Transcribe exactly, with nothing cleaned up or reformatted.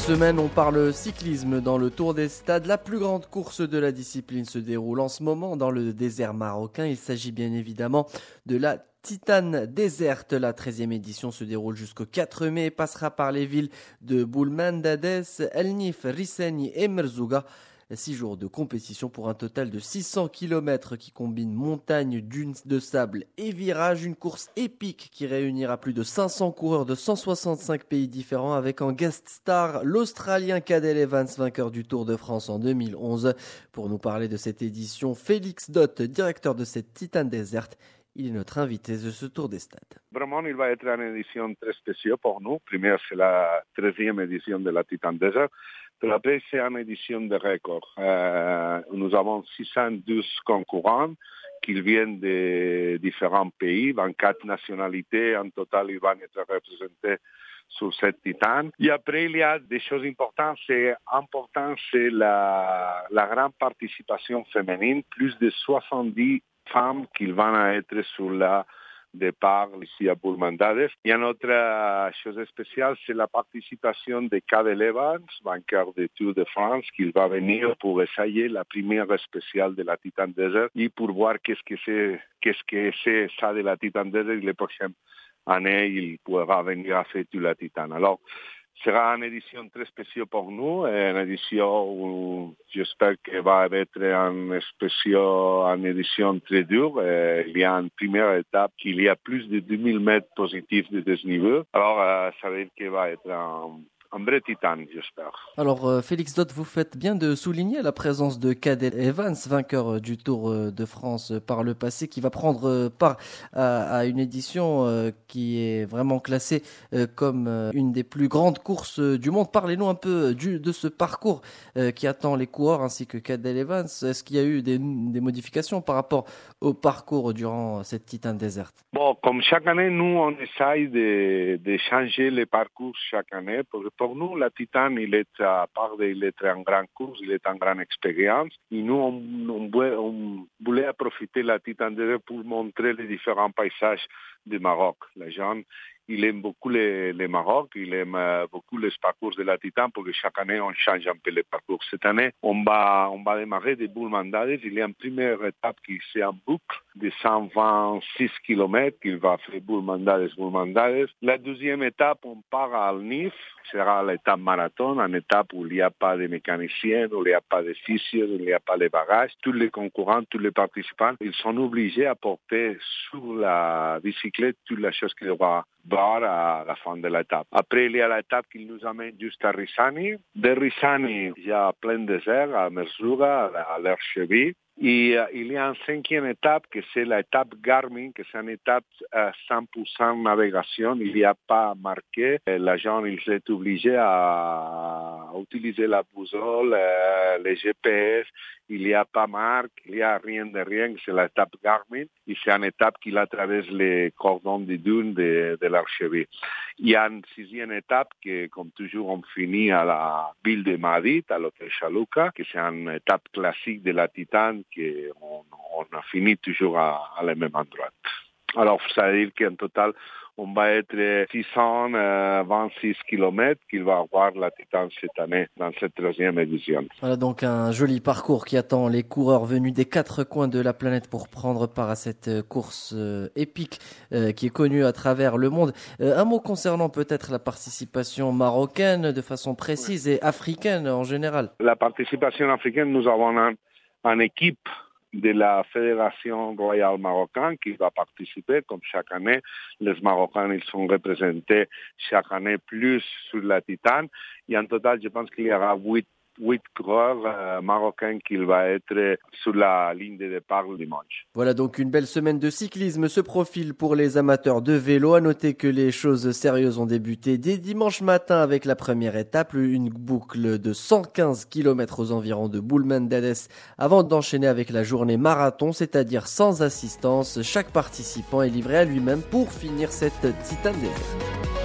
semaine, on parle cyclisme dans le Tour des Stades. La plus grande course de la discipline se déroule en ce moment dans le désert marocain. Il s'agit bien évidemment de la Titan Desert. La treizième édition se déroule jusqu'au quatre mai et passera par les villes de Boulmandades, El Nif, Rissani et Merzouga. Six jours de compétition pour un total de six cents kilomètres qui combine montagne, dunes de sable et virages. Une course épique qui réunira plus de cinq cents coureurs de cent soixante-cinq pays différents avec en guest star l'Australien Cadel Evans, vainqueur du Tour de France en deux mille onze. Pour nous parler de cette édition, Félix Dott, directeur de cette Titan Desert. Il est notre invité de ce Tour des Stades. Vraiment, il va être une édition très spéciale pour nous. Première, c'est la treizième édition de la Titan Desert. Puis après, c'est une édition de record. Euh, nous avons six cent douze concurrents qui viennent de différents pays, vingt-quatre nationalités. En total, ils vont être représentés sur cette Titan. Et après, il y a des choses importantes. C'est important, c'est la, la grande participation féminine. Plus de soixante-dix femmes qui vont être sur la départ ici à Boulmandades. Il y a une autre chose spéciale, c'est la participation de Cadel Evans, vainqueur du Tour de France, qui va venir pour essayer la première spéciale de la Titan Desert et pour voir qu'est-ce que c'est, qu'est-ce que c'est ça de la Titan Desert. Les prochaines années, il pourra venir à faire toute la Titan. Alors, ce sera une édition très spéciale pour nous, une édition où j'espère qu'elle va être une, spéciale, une édition très dure. Il y a une première étape qu'il y a plus de deux mille mètres positifs de dénivelé. Alors, ça veut dire qu'elle va être un, un vrai titan, j'espère. Alors, euh, Félix Dott, vous faites bien de souligner la présence de Cadel Evans, vainqueur du Tour de France par le passé, qui va prendre part à, à une édition euh, qui est vraiment classée euh, comme euh, une des plus grandes courses du monde. Parlez-nous un peu du, de ce parcours euh, qui attend les coureurs ainsi que Cadel Evans. Est-ce qu'il y a eu des, des modifications par rapport au parcours durant cette Titan Desert? Bon, comme chaque année, nous, on essaye de, de changer les parcours chaque année. Pour, pour nous, la Titan, il est, à part d'il est en grande course, il est en grande expérience. Et nous, on, on, voulait, on voulait profiter de la Titan Desert pour montrer les différents paysages du Maroc. Les gens, il aime beaucoup les, les Maroc, il aime beaucoup les parcours de la Titan parce que chaque année, on change un peu les parcours. Cette année, on va, on va démarrer de Boulmandades. Il y a une première étape qui c'est en boucle de cent vingt-six kilomètres qu'il va faire Boulmandades, Boulmandades. La deuxième étape, on part à Al-Nif. Ce sera l'étape marathon, une étape où il n'y a pas de mécaniciens, où il n'y a pas de fissures, où il n'y a pas de bagages. Tous les concurrents, tous les participants, ils sont obligés à porter sur la bicyclette toutes les choses qu'ils doivent voir à la fin de l'étape. Après, il y a l'étape qui nous amène juste à Rissani. De Rissani, il y a plein de désert à Merzouga, à l'Archeville. Et euh, il y a une cinquième étape, que c'est l'étape Garmin, que c'est une étape à cent pour cent navigation. Il n'y a pas marqué. L'agent, il s'est obligé à utiliser la boussole, euh, les G P S. Il n'y a pas marque, il n'y a rien de rien. C'est l'étape Garmin. Et c'est une étape qui traverse les cordons des dunes de, de l'Archeville. Il y a une sixième étape que, comme toujours, on finit à la ville de Madrid, à l'hôtel Chaluka, que c'est une étape classique de la Titan, qu'on on a fini toujours à, à la même endroit. Alors, ça veut dire qu'en total, on va être six cent vingt-six kilomètres qu'il va avoir la Titan cette année dans cette troisième édition. Voilà donc un joli parcours qui attend les coureurs venus des quatre coins de la planète pour prendre part à cette course euh, épique euh, qui est connue à travers le monde. Euh, un mot concernant peut-être la participation marocaine de façon précise et africaine en général. La participation africaine, nous avons un, une équipe de la Fédération royale marocaine qui va participer, comme chaque année. Les Marocains, ils sont représentés chaque année plus sur la Titan. Et en total, je pense qu'il y aura huit huit coureurs euh, marocains qui vont être sur la ligne de départ le dimanche. Voilà donc une belle semaine de cyclisme se profile pour les amateurs de vélo. À noter que les choses sérieuses ont débuté dès dimanche matin avec la première étape, une boucle de cent quinze kilomètres aux environs de Boulmandades avant d'enchaîner avec la journée marathon, c'est-à-dire sans assistance. Chaque participant est livré à lui-même pour finir cette Titan Desert.